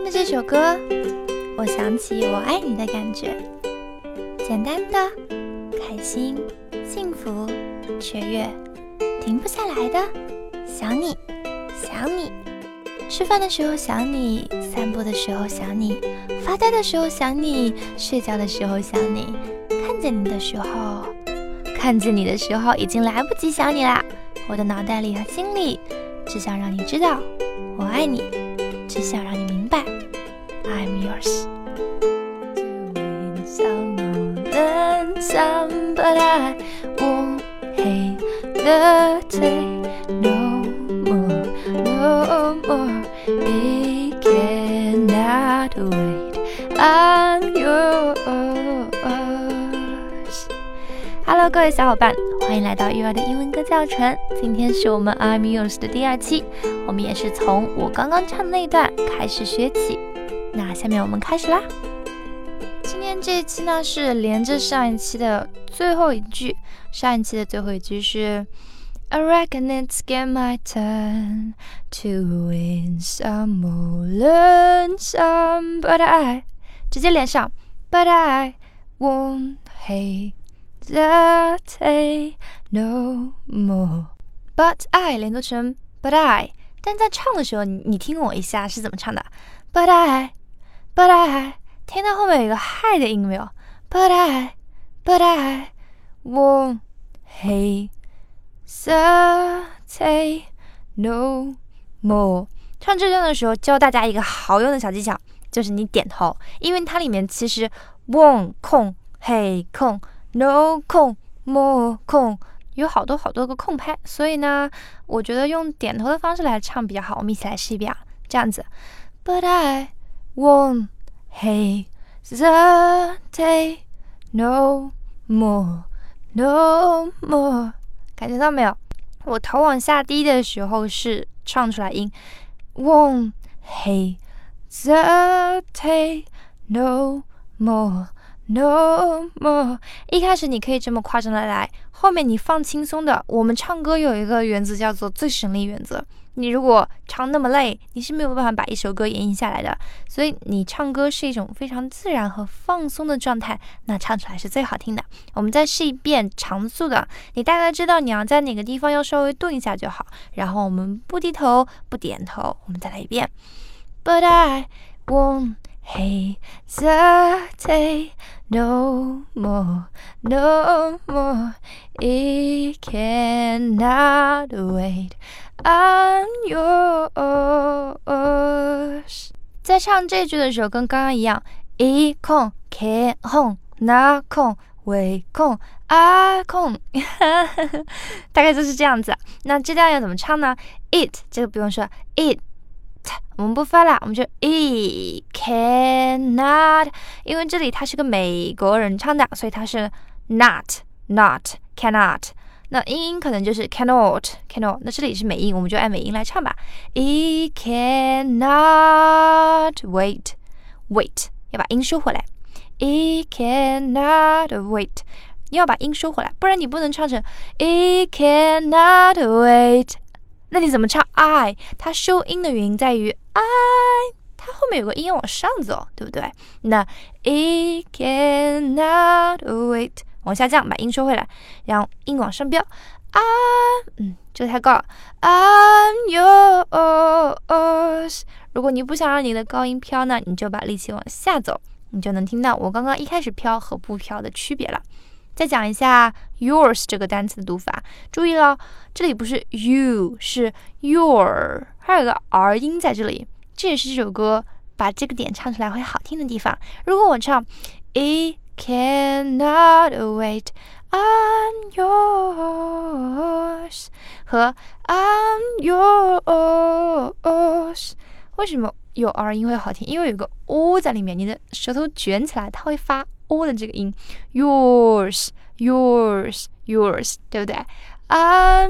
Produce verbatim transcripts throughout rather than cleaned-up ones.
的这首歌，我想起我爱你的感觉，简单的、开心、幸福、雀跃，停不下来的，想你，想你。吃饭的时候想你，散步的时候想你，发呆的时候想你，睡觉的时候想你，看见你的时候，看见你的时候已经来不及想你啦。我的脑袋里和心里只想让你知道我爱你，只想让你明白 I'm yours. Doing some more than some, but I won't hesitate no more, no more. It cannot wait. I'm yours. Hello， 各位小伙伴，欢迎来到育儿的英文歌教程。今天是我们 I'm yours 的第二期，我们也是从我刚刚唱的那一段开始学起。那下面我们开始啦。今天这一期呢是连着上一期的最后一句，上一期的最后一句是 I reckon it's get my turn to win some or learn some, but I 直接连上 But I won't hesitate no more. But I 连读成 But I， 但在唱的时候 你, 你听我一下是怎么唱的 But I But I 听到后面有一个 hi 的音没有 But I But I won't hesitate no more. 唱这段的时候教大家一个好用的小技巧，就是你点头，因为它里面其实 won't 空 hey 空 no 空 more 空，有好多好多个空拍，所以呢我觉得用点头的方式来唱比较好。我们一起来试一遍啊，这样子 But I won't hesitate no more no more. 感觉到没有？我头往下低的时候是唱出来音 won't hesitate no more no more. 一开始你可以这么夸张的来，后面你放轻松的。我们唱歌有一个原则叫做最省力原则，你如果唱那么累，你是没有办法把一首歌演绎下来的。所以你唱歌是一种非常自然和放松的状态，那唱出来是最好听的。我们再试一遍常速的，你大概知道你要在哪个地方要稍微顿一下就好。然后我们不低头不点头，我们再来一遍 But I won't hesitate no more no more. It cannot wait. I'm yours. 在唱这句的时候跟刚刚一样，一空 can 空那空为空啊空大概就是这样子。那这段要怎么唱呢？ It 这个不用说 It我们不发了，我们就 It cannot， 因为这里它是个美国人唱的，所以它是 not not cannot， 那英音可能就是 cannot cannot， 那这里是美音，我们就按美音来唱吧。 It cannot wait wait 要把音收回来， It cannot wait 你要把音收回来，不然你不能唱成 It cannot wait。那你怎么唱 I？ 它收音的原因在于 I， 它后面有个音要往上走，对不对？那 It cannot wait 往下降，把音收回来，然后音往上飙 I， 嗯，这个太高了 I'm yours。 如果你不想让你的高音飘呢，你就把力气往下走，你就能听到我刚刚一开始飘和不飘的区别了。再讲一下 yours 这个单词的读法，注意了，这里不是 you 是 your， 还有个 r 音在这里，这也是这首歌把这个点唱出来会好听的地方。如果我唱 It cannot wait I'm yours 和 I'm yours， 为什么有 r 音会好听？因为有个 o 在里面，你的舌頭卷起来它会发o 的这个音 yours yours yours， 对不对？ I'm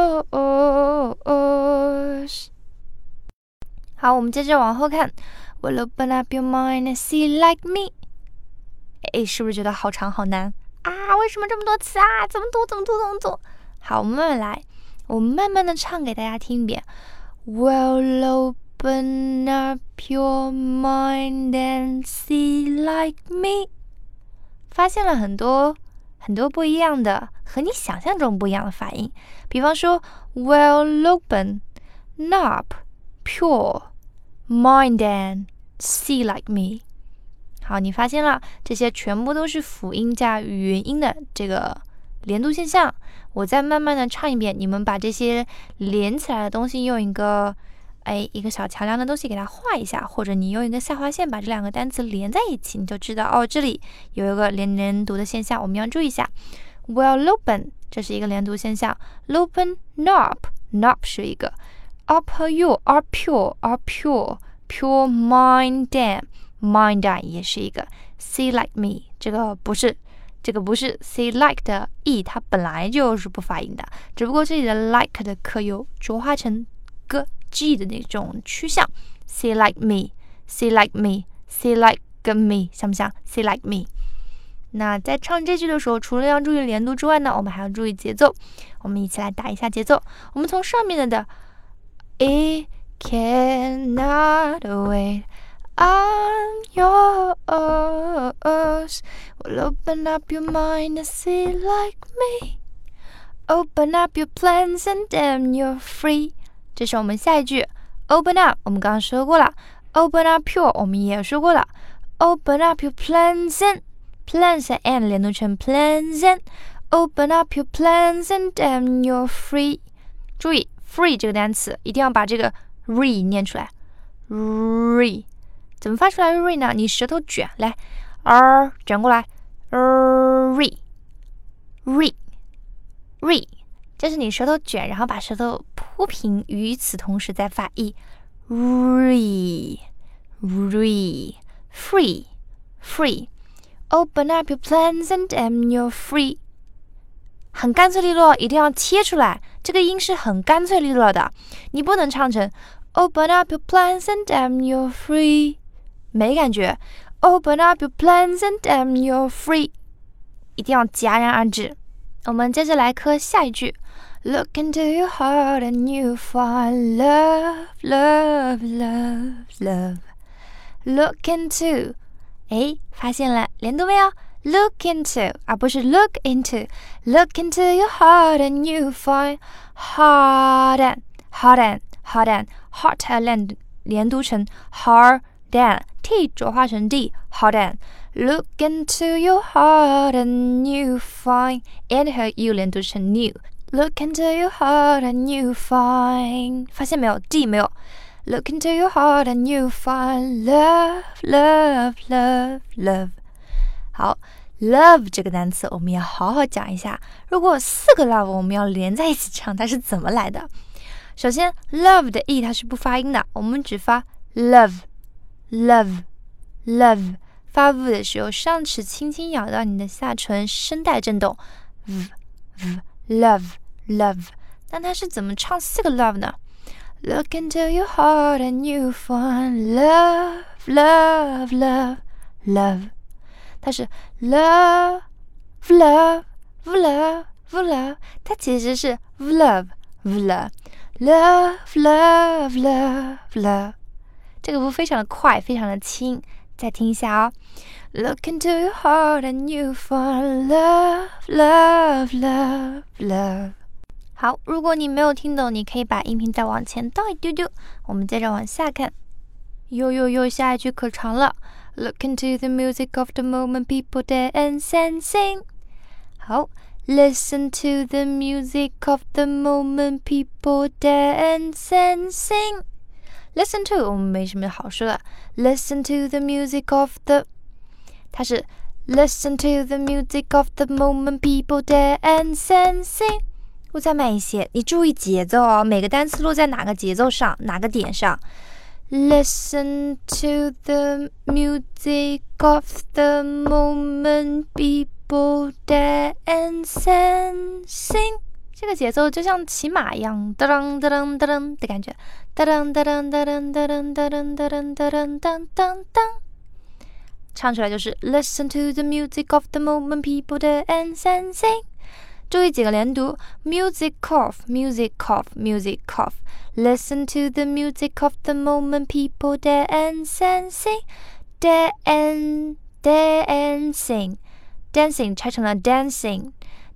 yours。 好，我们接着往后看 Well open up your mind and see like me。 诶，是不是觉得好长好难啊？为什么这么多词啊？怎么读怎么读怎么读？好，我们慢慢来，我们慢慢的唱给大家听一遍。Well Open up your mind and see like me。 发现了很多很多不一样的，和你想象中不一样的发音。比方说 Well open, up, pure, mind and see like me。 好，你发现了这些全部都是辅音加语元音的这个连读现象。我再慢慢的唱一遍，你们把这些连起来的东西用一个哎一个小桥梁的东西给它画一下，或者你用一个下划线把这两个单词连在一起，你就知道哦，这里有一个连连读的现象，我们要注意一下。 Well open 这是一个连读现象， open up up 是一个， up 和 you are pure are pure pure mind and mind and 也是一个， see like me 这个不是这个不是 see like 的 e， 它本来就是不发音的，只不过这里的 like 的可有浊化成 g g 的那种趋向。 see like me see like me see like me 像不像 see like me？ 那在唱这句的时候，除了要注意连读之外呢，我们还要注意节奏。我们一起来打一下节奏。我们从上面的 It cannot wait I'm yours. Well, open up your mind and see like me. Open up your plans and then you're free. 这是我们下一句 Open up 我们刚刚说过了， Open up your 我们也说过了， Open up your plans and plans and 连读成 plans and Open up your plans and then you're free. 注意 free 这个单词一定要把这个 re 念出来 re。怎么发出来 re 呢？你舌头卷来 r 卷过来 re re re， 这是你舌头卷，然后把舌头铺平，与此同时再发 e re re free free open up your plans and then you're free。 很干脆利落，一定要切出来，这个音是很干脆利落的，你不能唱成 Open up your plans and then you're free，没感觉 Open up your plans and then you're free， 一定要戛然而止。我们接着来磕下一句 Look into your heart and you find love love love love Look into 诶，发现了连读没有？ Look into 而不是 look into Look into your heart and you find heart and heart and heart and heart and 连读成 hard and T 浊化成 D hard and Look into your heart and you find and 和 U 连读成 new Look into your heart and you find 发现没有 D 没有 Look into your heart and you find love love love love 好 love 这个单词我们要好好讲一下，如果有四个 love 我们要连在一起唱，它是怎么来的？首先 love 的 e 它是不发音的，我们只发 love love love 发 v 的时候，上齿轻轻咬到你的下唇，声带震动 v v love love。 那它是怎么唱四个 love 呢？ Look into your heart and you find love love love love， 它是 love love love love， 它其实是 love love love love love love， 这个不非常的快，非常的轻，再听一下哦。 Look into your heart and you find love love love love。 好，如果你没有听懂，你可以把音频再往前倒一丢丢。我们接着往下看，哟哟哟，下一句可长了。 Look into the music of the moment, people dance and sing。 好，Listen to the music of the moment, people dance and sing。 Listen to 我们没什么好说的 Listen to the music of the 它是 Listen to the music of the moment, people dance and sing。 我再慢一些，你注意节奏哦，每个单词落在哪个节奏上，哪个点上。 Listen to the music of the moment, people dance and sing。 这个节奏就像骑马一样，噔噔噔噔噔的感觉，噔噔噔噔噔噔噔噔噔噔噔噔噔噔，唱出来就是 Listen to the music of the moment, people dance and sing。 注意几个连读 music of music of music of Listen to the music of the moment people dance and sing dance dancing dancing 拆成了 dancing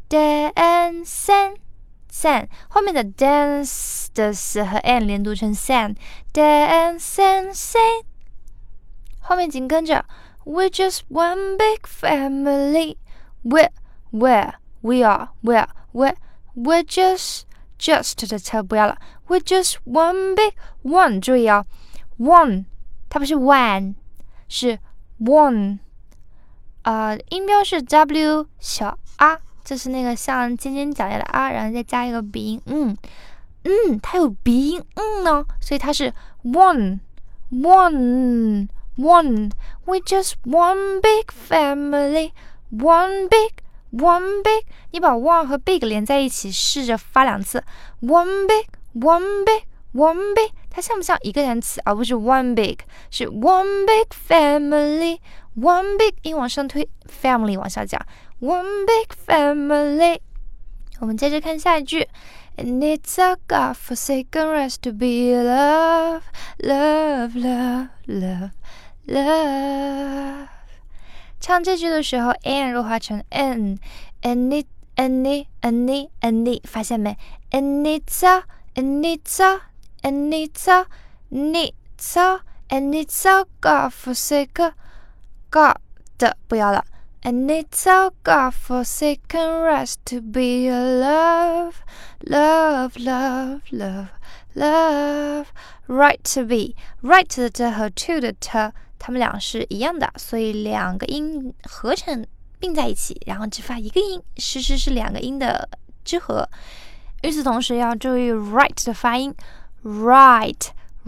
dancing san 后面的 dance 的 s 和 n 连读成 san dancing sing 后面紧跟着 We're just one big family We're Where we are Where Where We're just Just 的车不要了 We're just one big One 注意哦 One 它不是 one 是 one 呃，音标是 W 小 r 这是那个像尖尖角角的 r 然后再加一个鼻音嗯嗯它有鼻音嗯呢所以它是 one one one We're just one big family One big One big 你把 one 和 big 连在一起试着发两次 One big One big One big 它像不像一个单词而不是 one big 是 one big family One big 音往上推 family 往下讲 One big family 我们接着看下一句 And it's a God-forsaken rest to be love Love, love, love, love 唱这句的时候 n 弱化成 n And it, and it, and it, and it 发现没 And it's a, and it's a, and it's a, and it's a, and it's a God-forsaken God 的不要了 And it's our God-forsaken rest to be love Love, love, love, love Right to be Right 的 t 和 to 的 t 它们俩是一样的所以两个音合成并在一起然后只发一个音实时是两个音的之和与此同时要注意 right 的发音 Right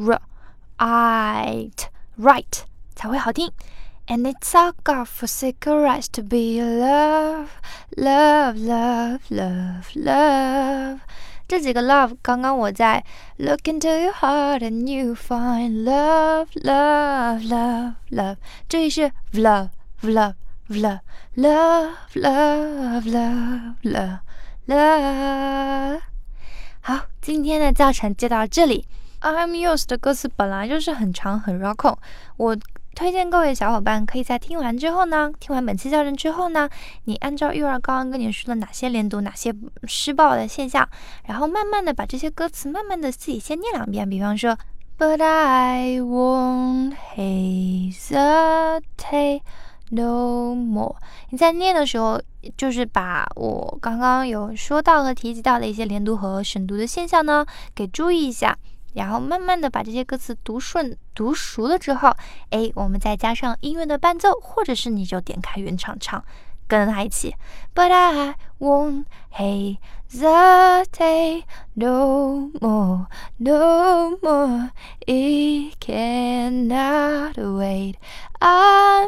Right Right 才会好听And it's our God-forsaken rest to be love, love, love, love, love 这几个 love 刚刚我在 Look into your heart and you find love, love, love, love 这里是 love, love, love, love, love, love, love, love 好，今天的教程就到这里 I'm yours 的歌词本来就是很长很绕口我推荐各位小伙伴可以在听完之后呢听完本期教程之后呢你按照玉儿刚刚跟你说的哪些连读哪些失爆的现象然后慢慢的把这些歌词慢慢的自己先念两遍比方说 But I won't hesitate no more 你在念的时候就是把我刚刚有说到和提及到的一些连读和省读的现象呢给注意一下然后慢慢的把这些歌词读顺读熟了之后诶我们再加上音乐的伴奏或者是你就点开原唱唱跟着他一起 But I won't hesitate no more no more It cannot wait I'm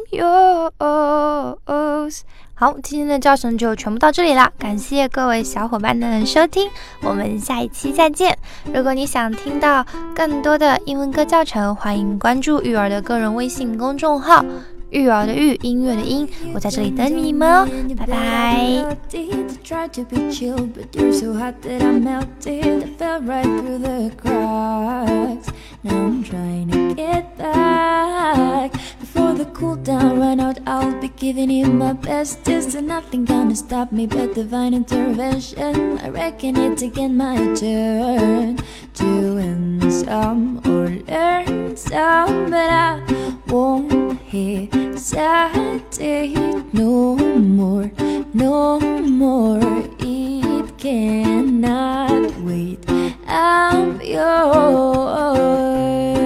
yours好今天的教程就全部到这里啦感谢各位小伙伴的收听我们下一期再见如果你想听到更多的英文歌教程欢迎关注育儿的个人微信公众号育儿的育音乐的音我在这里等你们哦拜拜Before the cool down run out I'll be giving it my best There's nothing gonna stop me but divine intervention I reckon it's again my turn To win some or learn some But I won't hesitate no more No more It cannot wait I'm yours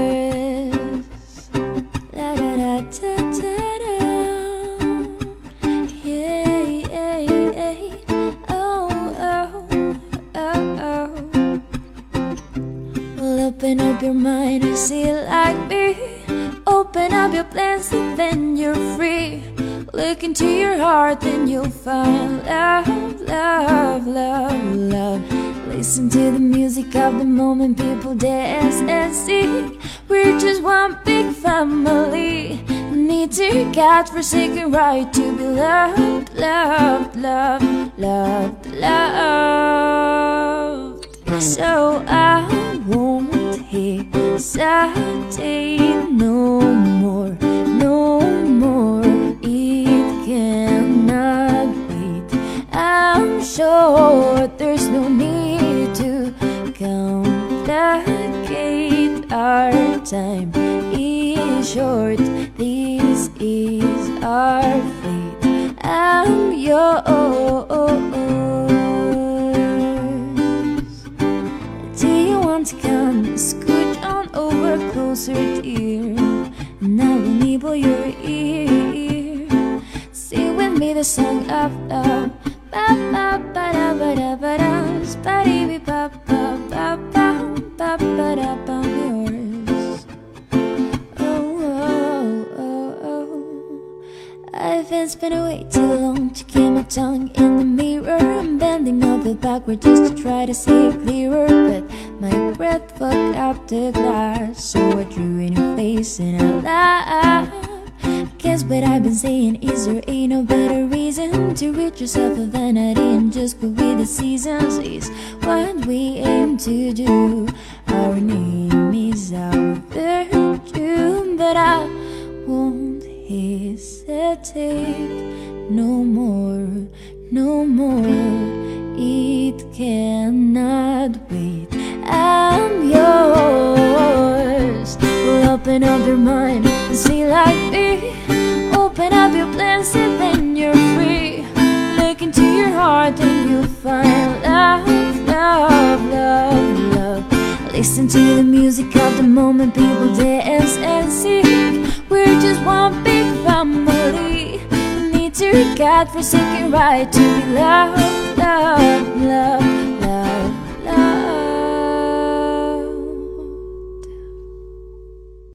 Open up your mind and see it like me Open up your plans and then you're free Look into your heart then you'll find love, love, love, love Listen to the music of the moment people dance and sing We're just one big family Need to God-forsaken right to be loved, loved, loved, loved, loved. So I won't hesitate no more, no more. It cannot wait. I'm sure there's no need to complicate. Our time is short. This is our fate. I'm yours. Do you want to come? Scooch on over closer, dear, and I will nibble your ear. Sing with me the song of love. Ba ba ba da ba da ba da, ba dee bee ba ba ba ba ba ba da ba. Yours. Oh oh oh oh. I've been spending way too long to keep my tongue in the mirror. I'm bending over backward just to try to see it clearer, but my breath fucked up the glass, so I drew in your face and I laughed. Guess what I've been saying is there ain't no better reason to rid yourself of vanity and just go with the seasons. Is what we aim to do. Our name is our virtue, but I won't hesitate no more, no more. It cannot wait. I'm yours. Well, open up your mind and see like me. Open up your plans and then you're free. Look into your heart and you'll find love, love, love, love. Listen to the music of the moment, people dance and sing. We're just one big family. Need to God forsaken right to be loved, love, love.